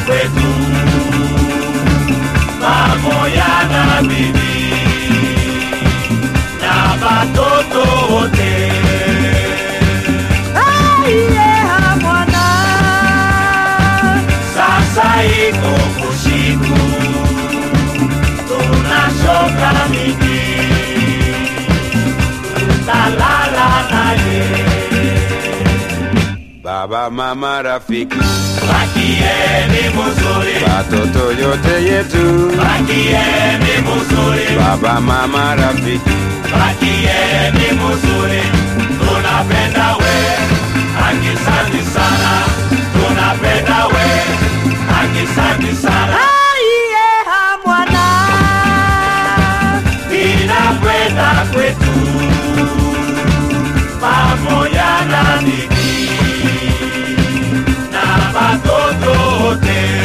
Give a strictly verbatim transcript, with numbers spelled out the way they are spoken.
kwetu pamoja na bibi na watoto wote. Aiye mwana, sasa iko kushiku, tunashoka mingi, tutalala naye. Baba, mama, rafiki, bakieni muzuri, watoto yote yetu, bakieni muzuri, baba, mama, rafiki, bakieni muzuri, tunapenda we, akisanti sana, tunapenda we, akisanti sana. aiye mwana, ninakwenda kwetu pamoja na bibi na watoto wote.